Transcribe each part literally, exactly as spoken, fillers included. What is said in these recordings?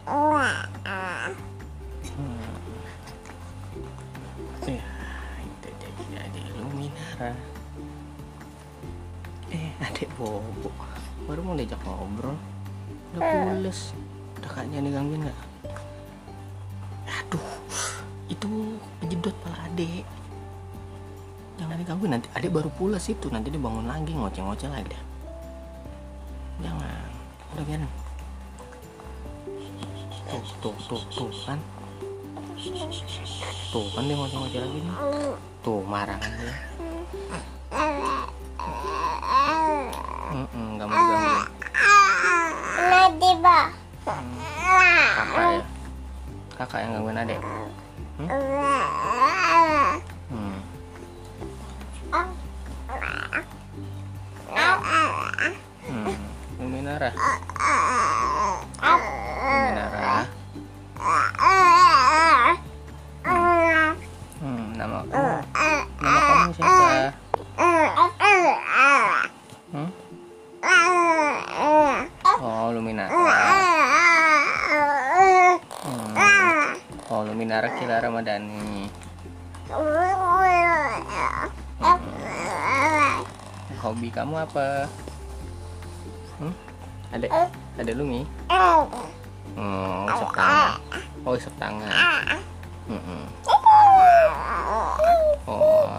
Hmm. Ya, itu jadi adik Luminara. Eh, adik Bobo baru mau diajak ngobrol, udah pules. Udah kayaknya digangguin nggak? Aduh, itu kejedot pala adik. Jangan digangguin, nanti adik baru pules itu, nanti dia bangun lagi ngoceh-ngoceh lagi dah. Jangan, udah biarin. Tuh, tuh, tuh, tuh kan. Tuh kan dia ngoceh-ngoceh lagi nih. Tuh marah kan dia. Mm-mm, gak mau digangguin. Hmm. Kakak ya, kakak yang gangguin adik. Hmm? Hmm. Hmm. Luminara. Luminara. Hmm, nama kamu, nama kamu siapa? Hmm? Oh, Luminara. Hmm. Oh, Luminara Kila Ramadhani. Hmm. Hobi kamu apa? Hmm? Ada, ada Lumi? Oh, isep tangan. Oh, isep tangan. Hmm. Oh.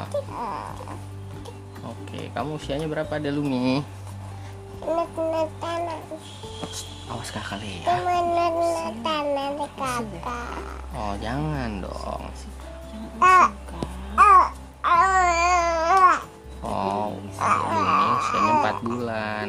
Oke, kamu usianya berapa, ada Lumi? Awas kakak lihat. Oh, jangan dong. Oh, ini usianya empat bulan.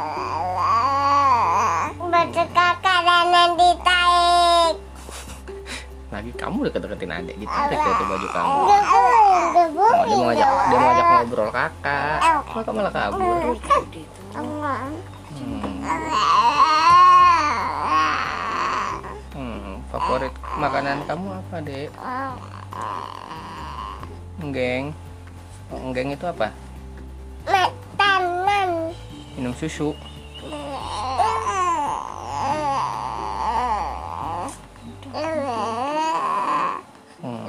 Baju kakak dan nanti tarik. Lagi kamu deket-deketin adik, ditarik ya tuh baju kamu. Oh, Oh, dia mau ngajak, dia mau ngajak ngobrol kakak. Kok kamu malah kabur? Hmm. Hmm, favorit makanan kamu apa, Dek? Enggeng. Oh, enggeng itu apa? Makanan. Minum susu. Hmm.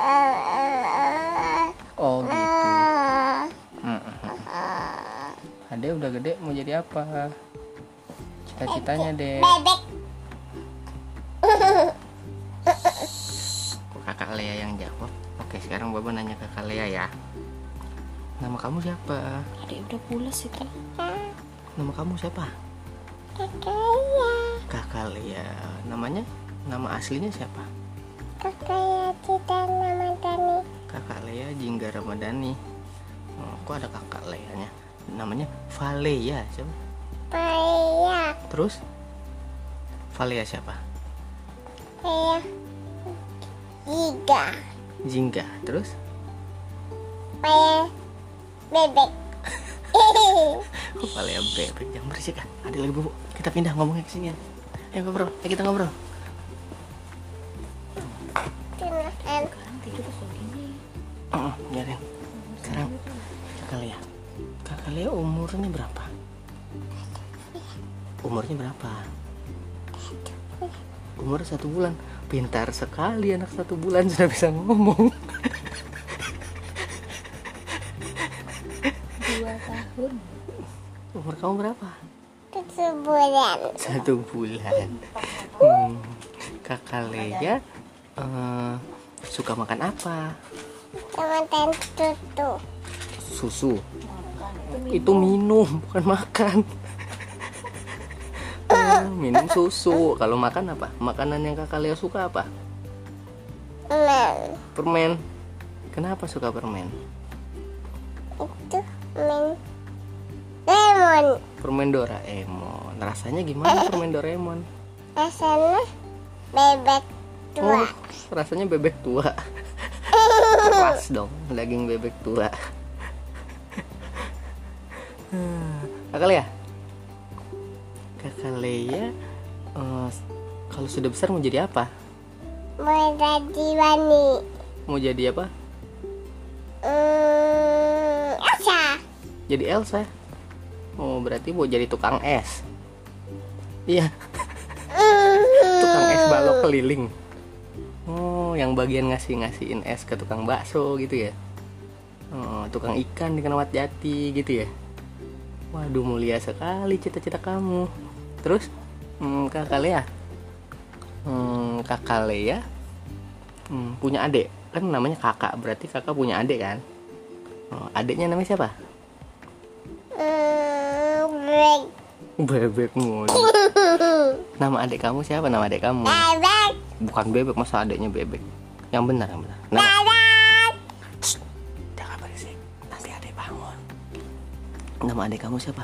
Oh gitu. Hmm. Ade udah gede mau jadi apa? Cita-citanya, Dek. Bebek. Kakak Lea yang jawab. Oke, sekarang Baba nanya ke Kakak Lea ya. Nama kamu siapa? Adik udah pulas itu. Nama kamu siapa? Kakak Kakak Lea. Namanya? Nama aslinya siapa? Kakak Cita Ramadhani. Kakak Lea Jingga Ramadhani. Oh, kok ada Kakak Leanya? Namanya Valea siapa? Paya. Terus? Valea siapa? Paya. Giga. Jingga. Terus? Paya. Bebek. Oh, Valea bebek. Jangan berisik kan? Ada lagi bubuk. Kita pindah ngomongnya ke sini ya. Ayo ngobrol. Ayo kita ngobrol. Tunakan. Sekarang tidur segini. Oh, biarin. Sekarang Kakak Lea. Kakak Lea umurnya berapa? Umurnya berapa? Umur satu bulan. Pintar sekali anak satu bulan sudah bisa ngomong. Dua tahun. Umur kamu berapa? Satu bulan. Satu bulan. Hmm. Kakak Lea uh, suka makan apa? Teman-teman tutu. Susu. Itu minum, bukan makan. Uh, minum susu. Kalau makan apa? Makanan yang Kakak Lea suka apa? Men. Permen. Kenapa suka permen? Itu men. Lemon. Permen Doraemon. Rasanya gimana permen Doraemon? Rasanya bebek tua. Oh, rasanya bebek tua. Keras dong, daging bebek tua. Kakak Lea, Kakak Lea, uh, kalau sudah besar mau jadi apa? Mau jadi Wani. Mau jadi apa? Hmm, Elsa. Jadi Elsa. Oh, berarti mau jadi tukang es. Iya. Tukang es keliling. Oh, yang bagian ngasih-ngasihin es ke tukang bakso gitu ya. Oh, tukang ikan di Keramat Jati gitu ya. Waduh, mulia sekali cita-cita kamu. Terus hmm, kakak Lea hmm, kakak Lea hmm, punya adik kan, namanya kakak, berarti kakak punya adik kan. Oh, adiknya namanya siapa? Bebek. Bebek mulu. Nama adik kamu siapa? Nama adik kamu? Bebek. Bukan Bebek, masa adiknya Bebek? Yang benar, yang benar. Nama... Bebek. Shh, jangan berisik, nanti adik bangun. Nama adik kamu siapa?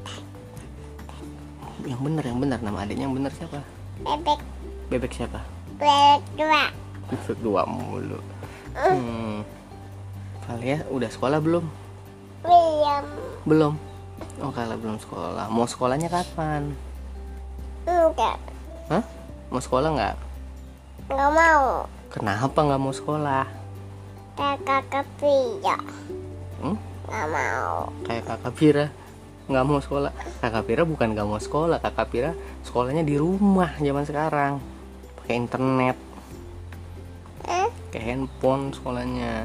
Yang benar, yang benar. Nama adiknya yang benar siapa? Bebek. Bebek siapa? Bebek dua. Bebek dua mulu. Hmm. Kalian udah sekolah belum? William. Belum. Oh, kalian belum sekolah. Mau sekolahnya kapan? Enggak. Hah? Mau sekolah nggak? Enggak mau. Kenapa nggak mau sekolah? Kakak kepia. Hmm? Enggak mau. Kayak kakak Pira nggak mau sekolah. Kakak Pira bukan nggak mau sekolah, kakak Pira sekolahnya di rumah zaman sekarang, pakai internet, Eh? pakai handphone sekolahnya.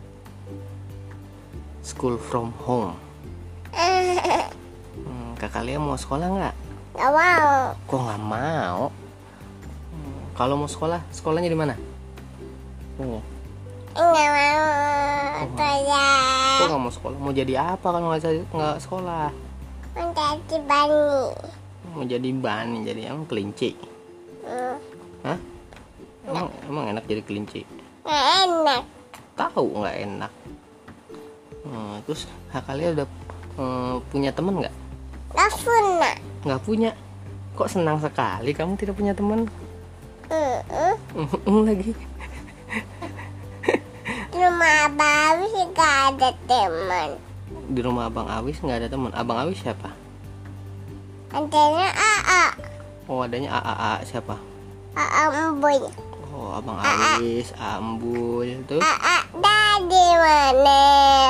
School from home. Hmm, kakak Lea mau sekolah nggak? Enggak mau. Kok nggak mau? Hmm, kalau mau sekolah, sekolahnya di mana? Oh, Enggak mau. kok Saya nggak mau sekolah? Mau jadi apa kalau nggak nggak sekolah? menjadi bani. Mau jadi bani, jadi emang kelinci? Hmm. Hah? Emang, emang enak jadi kelinci? Nggak enak. Tahu nggak enak. Hmm, terus kakak Lea udah hmm, punya temen nggak? Nggak punya. Nggak punya. Kok senang sekali kamu tidak punya teman? Hmm. Hmm, lagi. Di rumah baru sih nggak ada teman. Di rumah Abang Awis nggak ada teman. Abang Awis siapa? Adanya A A. Oh, adanya A A A siapa? A A Emboy. Oh, Abang Awis, Ambul, terus A A dari mana?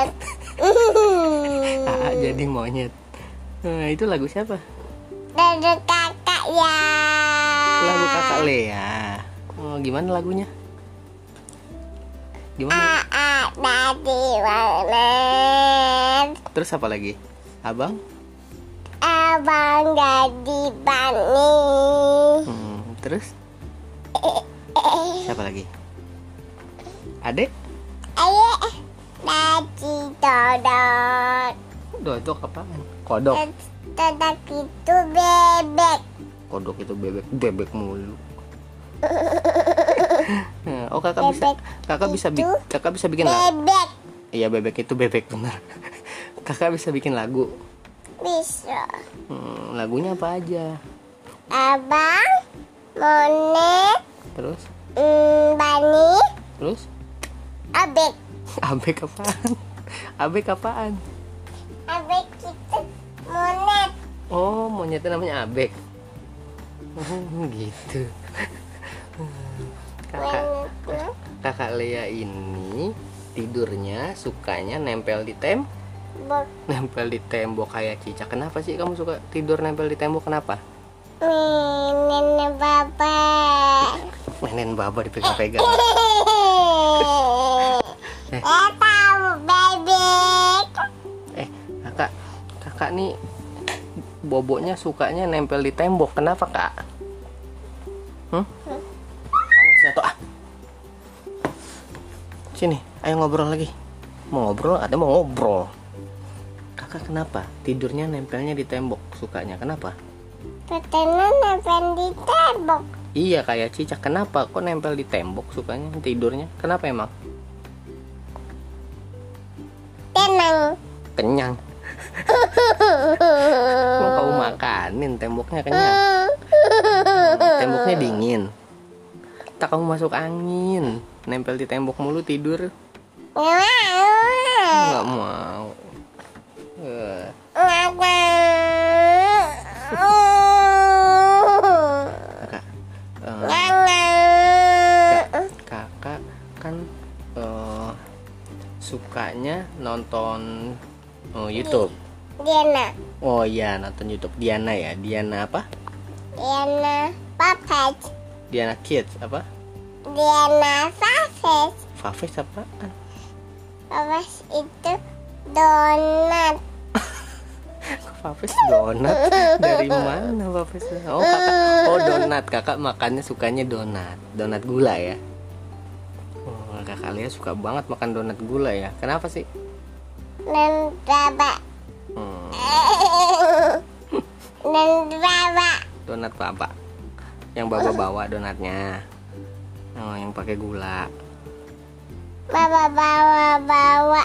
A A jadi monyet. Nah, itu lagu siapa? Dari kakak ya. Lagu kakak Lea. Oh, gimana lagunya? A Gimana? A dari mana? Terus apa lagi? Abang? Abang jadi bani. Hmm, terus? Siapa lagi? Adek? Ayo, dari dodot. Dodok apaan? Kodok. Dodot itu bebek. Kodok itu bebek, bebek mulu. Oh, kakak bisa, Bebek kakak bisa, bi- itu kakak bisa bikin lagu. Bebek Iya, bebek itu bebek benar. Kakak bisa bikin lagu. bisa. Hmm, lagunya apa aja? Abang, monet, Terus, mm, bani, terus, abek. abek apaan? Abek apaan? Abek itu monet. Oh, monyetnya namanya abek. Oh, gitu. Kakak, Monet. kakak Lea ini tidurnya sukanya nempel di tem, Bok. nempel di tembok kayak cicak. Kenapa sih kamu suka tidur nempel di tembok? Kenapa? Nenek baba. Nenek baba dipegang-pegang. Eh, tahu bebek. Eh, kakak, kakak nih boboknya sukanya nempel di tembok. Kenapa, Kak? Hmm? Awas ya, toh. Ah. Sini, ayo ngobrol lagi. Mau ngobrol? Ada mau ngobrol. Kakak kenapa tidurnya nempelnya di tembok? Sukanya kenapa? Katanya nempel di tembok. Iya, kayak cicak. Kenapa kok nempel di tembok sukanya tidurnya? Kenapa emang? Tenang. Kenyang. Mau kamu makanin temboknya kenyang. Temboknya dingin. Tak kamu masuk angin. Nempel di tembok mulu tidur. Nggak mau. Nggak mau. Eh, Nggak mau. kakak, eh, Nggak mau. kakak kan eh, sukanya nonton oh, YouTube. Diana. Oh iya, nonton YouTube. Diana ya. Diana apa? Diana Papet. Diana Kids apa? Diana Faves. Faves apaan? Faves itu donat. Faves donat? Dari mana Faves? Oh kakak, oh donat. Kakak makannya sukanya donat, donat gula ya. Oh kakak Lia suka banget makan donat gula ya. Kenapa sih? Dan baba. Hmm. Dan baba. Donat apa? Yang baba bawa donatnya. Oh yang pakai gula. Baba bawa bawa.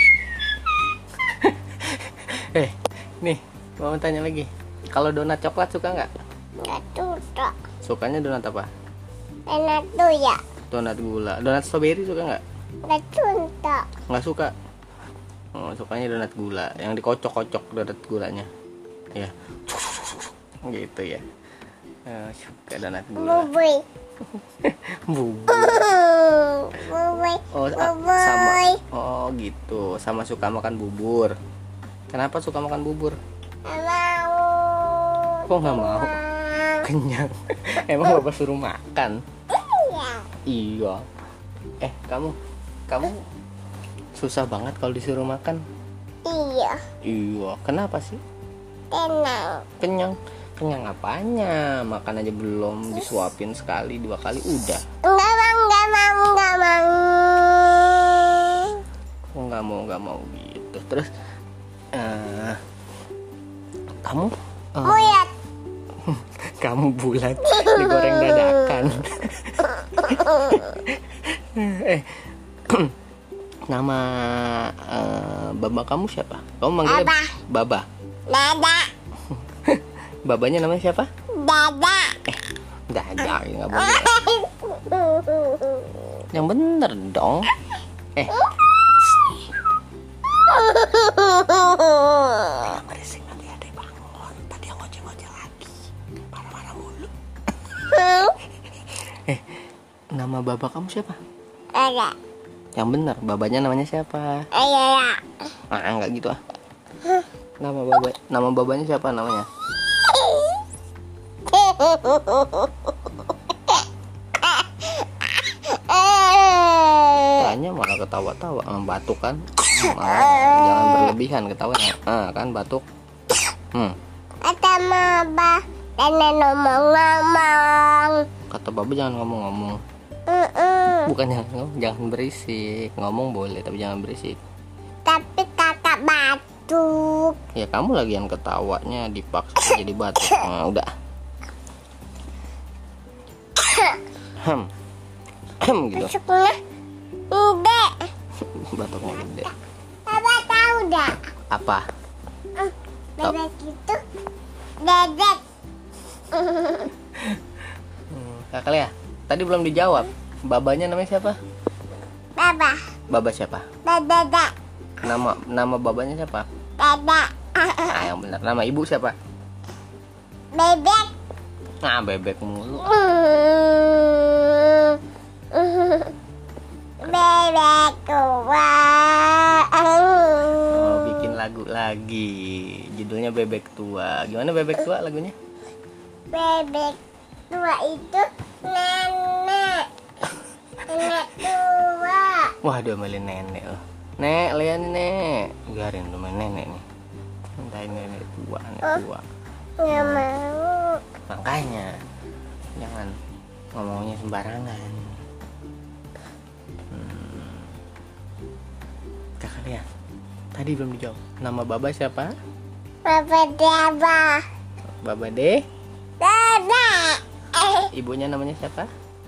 Eh nih mau tanya lagi. Kalau donat coklat suka nggak? Nggak suka. Sukanya donat apa? Donat tuh ya. Donat gula. Donat strawberry suka nggak? Nggak suka. Nggak suka. Oh, sukanya donat gula, yang dikocok-kocok donat gulanya. Ya. Gitu ya. Eh, suka donat gula. Bubui. Bubur. Bubui. Oh, a- sama. Bubui. Oh, gitu. Sama suka makan bubur. Kenapa suka makan bubur? Nggak mau. Kok nggak mau? Kenyang. Emang bapak suruh makan? Iya. Iya. Eh, kamu kamu susah banget kalau disuruh makan. Iya. Iya. Kenapa sih? Tenang. Kenyang. Kenyang apanya? Makan aja belum disuapin sekali, dua kali udah. Nggak mau, nggak mau, nggak mau. Oh, nggak mau, nggak mau gitu. Terus eh kamu eh, Buyat. kamu bulat digoreng dadakan. eh nama eh, baba kamu siapa? Kamu manggilnya Baba. Baba. Dada. Babanya namanya siapa? Dada. Dada, nggak boleh. Yang bener dong. Eh, yang berisik nanti ada yang bangun. Tadi yang ngoceh-ngoceh lagi. Marah-marah mulu. Eh, nama baba kamu siapa? Ada. Yang bener, babanya namanya siapa? Ayo ya. Ah, nggak gitu ah. Nama baba, nama babanya siapa namanya? Tanya malah ketawa-tawa, ah, batuk kan? Ah, jangan berlebihan ketawanya. Ah, kan batuk. Hmm. Ada maba dan ngomong-ngomong. Kata baba jangan ngomong-ngomong. Mm-mm. Bukan jangan ngomong, jangan berisik. Ngomong boleh tapi jangan berisik. Tapi kakak batuk. Ya kamu lagi yang ketawanya dipaksa jadi batuk. Nah, udah. Hem. Hem gitu. Masuknya enggak. Batuknya gede. Papa tahu dah. Apa? Hmm, bebek itu bebek. Hmm, Kakak Lea, tadi belum dijawab. Babanya namanya siapa? Baba. Baba siapa? Dada. Nama nama babanya siapa? Dada. Ah, yang benar. Nama ibu siapa? Bebek. Nah, bebek mulu. Hmm. Bebek tua. Oh, bikin lagu lagi. Judulnya Bebek Tua. Gimana Bebek Tua lagunya? Bebek tua itu nenek. Nenek tua. Wah, diomelin nenek loh. Nek, Lea nih, Nek. Biarin domelin nenek nih. Mintain nenek tua, nenek tua. Nggak mau. Makanya jangan ngomongnya sembarangan. Hmm. Kakak Lea, tadi belum dijawab. Nama baba siapa? Papa Daba. Baba De. Dada. Eh, Ibunya namanya siapa?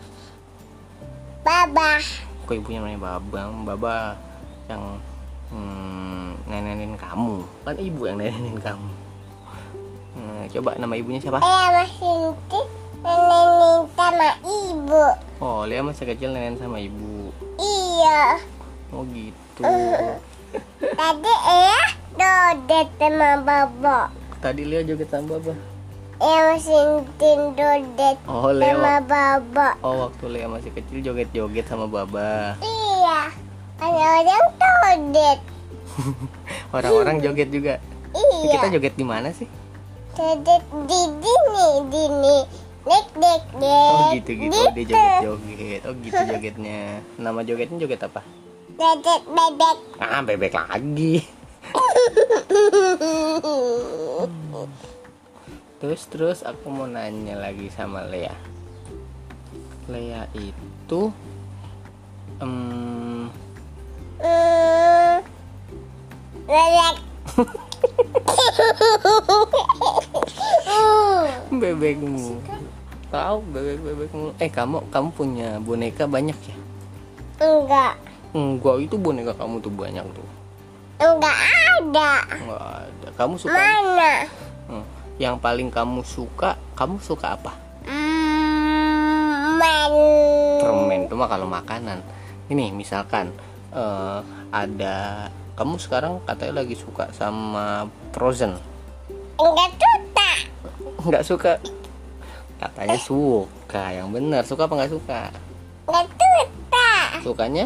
Baba. Kok ibunya namanya Baba? Baba yang hmm, nenenin kamu. Kan ibu yang nenenin kamu. Hmm, coba nama ibunya siapa? Ayah masih nenek sama ibu. Oh, Lea masih kecil nenek sama ibu. Iya. Oh gitu. Tadi ayah dodet sama baba. Tadi Lea joget sama Baba. Ayah masih dodet Oh, sama Lea. baba. Oh, waktu Lea masih kecil joget-joget sama Baba. Iya. Ada orang dodet. Orang-orang joget juga. Iya. Kita joget di mana sih? Dodet di dini, dini, Dik dik Oh dik. gitu gitu. Oh, dia joget-joget. Oh gitu jogetnya. Nama jogetnya joget apa? Bebek bebek. Ah, bebek lagi. Terus terus aku mau nanya lagi sama Lea. Lea itu em, Hmm, bebek. bebekmu. Tahu bebek-bebekmu. Eh kamu kamu punya boneka banyak ya? Enggak, Enggak, itu boneka kamu tuh banyak tuh. enggak ada. Enggak ada. Kamu suka Mana? Hmm, yang paling kamu suka, kamu suka apa? Hmm, man. Permen itu mah kalau makanan. Ini misalkan eh, ada kamu sekarang katanya lagi suka sama Frozen. Enggak suka. Nggak suka? Katanya suka. Yang benar, suka apa nggak suka? Enggak suka. Sukanya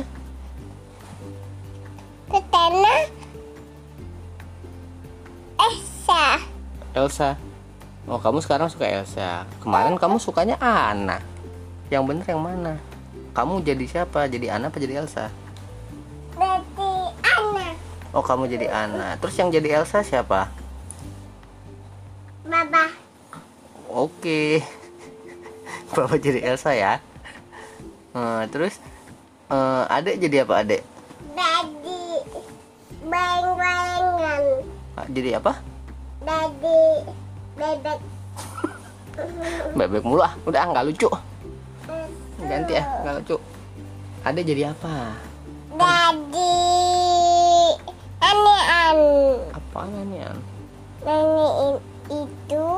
Ketana. Esa. Elsa. Oh, kamu sekarang suka Elsa. Kemarin kamu sukanya Anna. Yang benar yang mana? Kamu jadi siapa? Jadi Anna apa jadi Elsa? Berarti anak. Oh, kamu jadi Anna. Terus yang jadi Elsa siapa? Baba. Oke. Bapak jadi Elsa ya. Eh, terus eh, adek jadi apa adek? Daddy. Bayang-bayangan. Ah, jadi apa? Daddy. Bebek. Bebek mulu ah. Udah ah, nggak lucu. Ganti ya, nggak lucu. Adek jadi apa? Daddy. Anean. Apaan nih An? Nanyain itu.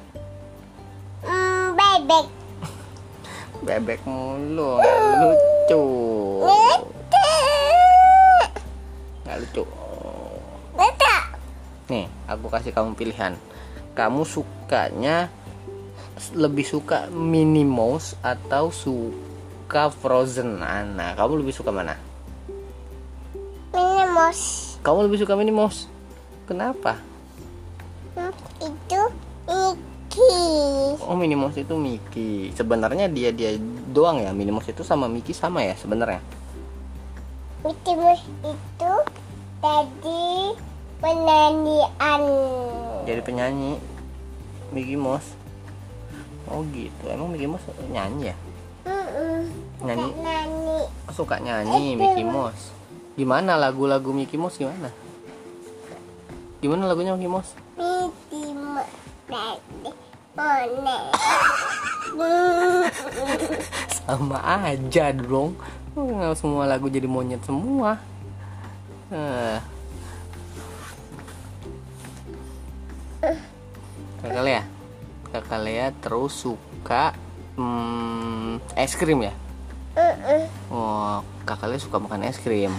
Hmm, bebek. Bebek mulu, nggak lucu. Lucu. Nggak lucu. Lucu. Nih, aku kasih kamu pilihan. Kamu sukanya lebih suka Minnie Mouse atau suka Frozen? Nah, kamu lebih suka mana? Minimos. Kamu lebih suka Minnie Mouse. Kenapa? Hmm, itu Mickey. Oh, Minnie Mouse itu Mickey. Sebenarnya dia dia doang ya. Minnie Mouse itu sama Mickey sama ya sebenarnya. Mickey Mouse itu tadi penyanyian. Jadi penyanyi Mickey Mouse. Oh gitu. Emang Mickey Mouse nyanyi ya? Mm-mm. Nyanyi. Nani. Suka nyanyi Mickey Mouse. Gimana lagu-lagu Mickey Mouse gimana? Gimana lagunya Mickey Mouse? Mickey Mouse tadi Mone. Sama aja dong. Oh, semua lagu jadi monyet semua. Eh. Kakak Lea, Kakak Lea terus suka hmm, es krim ya? Oh, Kakak Lea suka makan es krim.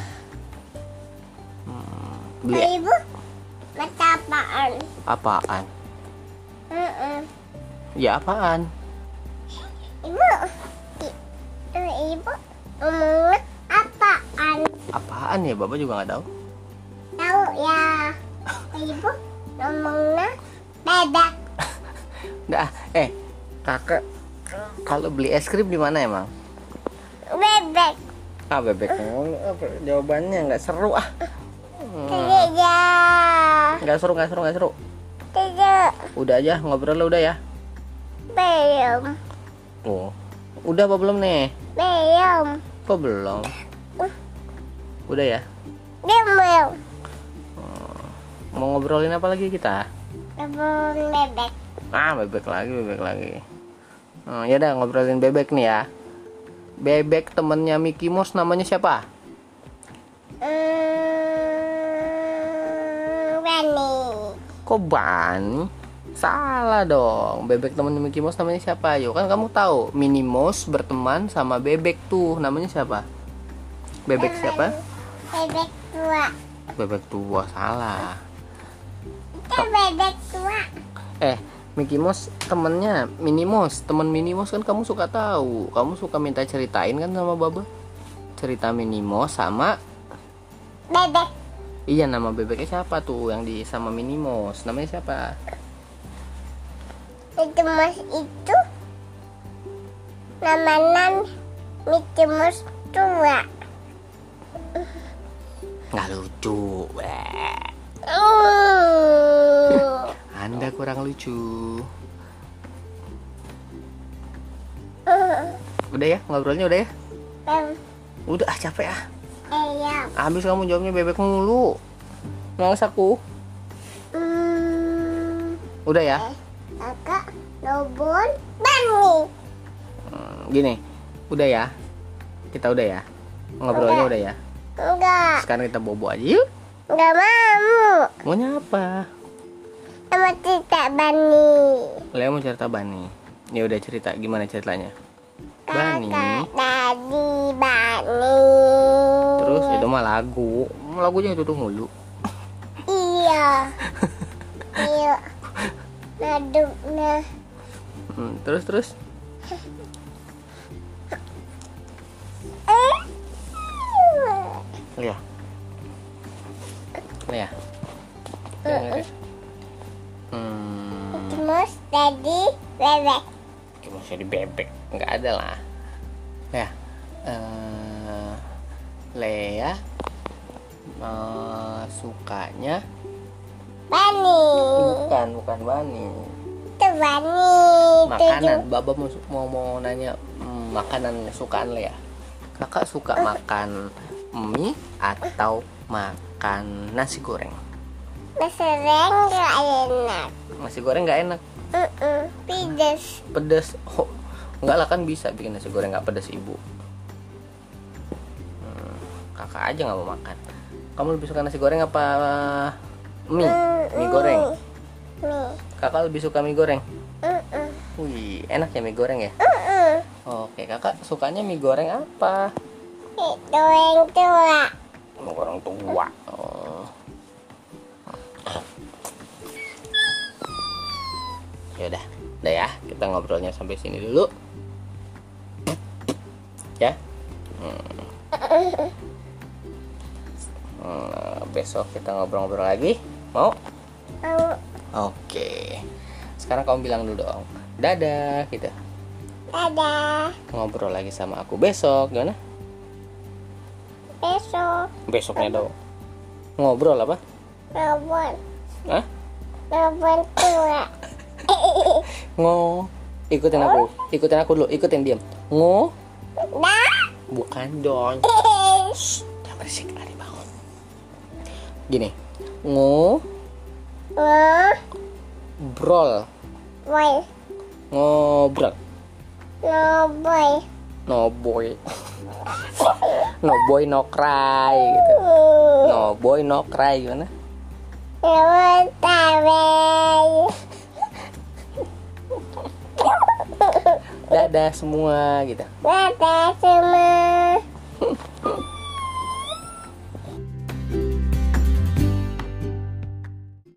Hmm, beli Ibu mata apaan? apaan? Mm-mm. Ya apaan? Ibu, i- eh, ibu ngomongnya apaan? Apaan ya? Bapak juga nggak tahu. Tahu ya? Ibu ngomongnya bebek. Dah, eh, kakak kalau beli es krim di mana emang? Bebek. Ah, bebek mulu. Apa jawabannya nggak seru ah. Hmm, Tidak. nggak seru, nggak seru, nggak seru. Tidak. Udah aja ngobrol udah ya. Belum. Oh, udah apa belum nih? Belum. Kok belum? Udah ya. Belum. Mau ngobrolin apa lagi kita? Belum bebek. Ah, bebek lagi, bebek lagi. Hmm, ya udah ngobrolin bebek nih ya. Bebek temennya Mickey Mouse namanya siapa? Hmm, Rani. Kok Bunny? Salah dong. Bebek temennya Mickey Mouse namanya siapa? Yuk kan kamu tahu Minnie Mouse berteman sama bebek tuh. Namanya siapa? Bebek siapa? Bebek tua. Bebek tua. Salah. Itu bebek tua. Eh, Mickey Mouse temennya Minnie Mouse. Temen Minnie Mouse kan kamu suka tahu. Kamu suka minta ceritain kan sama Baba? Cerita Minnie Mouse sama Bebek. iya, nama bebeknya siapa tuh yang di sama Minnie Mouse? Namanya siapa? Itu mas itu Namanan Mickey Mouse tua. Nggak lucu. Weh. Uh. Anda kurang lucu. Uh. Udah ya, ngobrolnya udah ya? Um. Udah, ah capek ah. Ayam. Habis kamu jawabnya bebek mulu. Males aku. Hmm. Udah ya? Kakak robot Bani. Hmm, gini, udah ya? Kita udah ya? Ngobrolnya udah ya? Enggak. Sekarang kita bobo aja yuk. Enggak mau. Maunya apa? Sama cerita Bani. Lea mau cerita Bani. Ya udah cerita, gimana ceritanya? Bani. Kakak tadi Bani. Terus itu mah lagu. Lagunya itu tuh mulu. Iya. Iya. Naduknya. Hmm, terus terus. Lea. Lea. Dengar ya? Hmm. Terus tadi bebek. Gimana sih di bebek? Nggak ada lah. Lea. Eh, Lea eh, sukanya Bani. bukan bukan Bani. Itu Bani. Makanan. Baba mau mau, mau nanya hmm, makanan kesukaan Lea. Kakak suka makan mie atau makan nasi goreng? Nasi goreng gak enak. Nasi goreng nggak enak, Uh-uh. Pedes. pedes. Oh, nggak lah, kan bisa bikin nasi goreng nggak pedes ibu. Hmm, kakak aja nggak mau makan. Kamu lebih suka nasi goreng apa mie? Mie goreng. Mie. Kakak lebih suka mie goreng. Uh-uh. Wih, enak ya mie goreng ya. Uh-uh. Oke, kakak sukanya mie goreng apa? Itu yang tua. Mie goreng tua. Oh. Ya udah, udah ya, kita ngobrolnya sampai sini dulu. Ya. Hmm. Hmm, besok kita ngobrol-ngobrol lagi. Mau? Mau. Oke. Sekarang kamu bilang dulu dong. Dadah gitu. Dadah. Ngobrol lagi sama aku besok, gimana? Besok. Besoknya dong. Ngobrol apa? Robot. Hah? Robot tua. Ngo. Ikutin aku. Ikutin aku dulu. Ikutin diam. Ngo. Dah. Bukan dong. Shh, jangan berisik, Ari bangun. Gini. Ngo. Mau. Brol. Boy. Ngobrol. No boy. No boy. No boy no cry gitu. No boy no cry gimana? Robot tabel. Dadah semua gitu. Dadah semua.